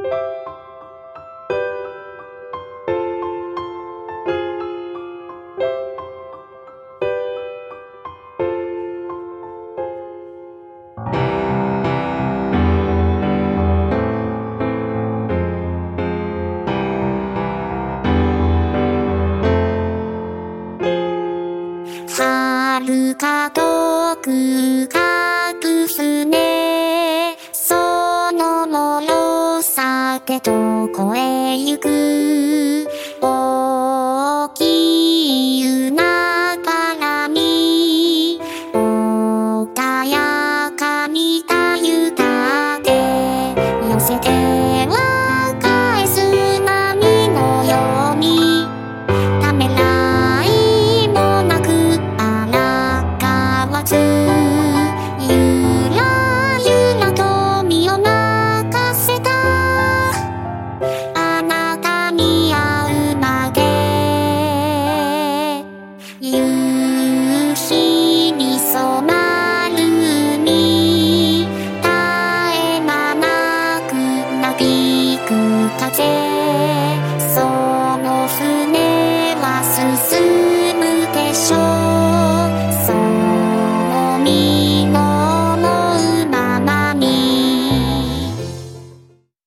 遥か遠く隠すね、その脆さでどこへ行く。大きい海原に穏やかにたゆたで寄せては返す波のように、ためらいもなく荒川ずゆらゆらと身を任せた。あなたに会うまで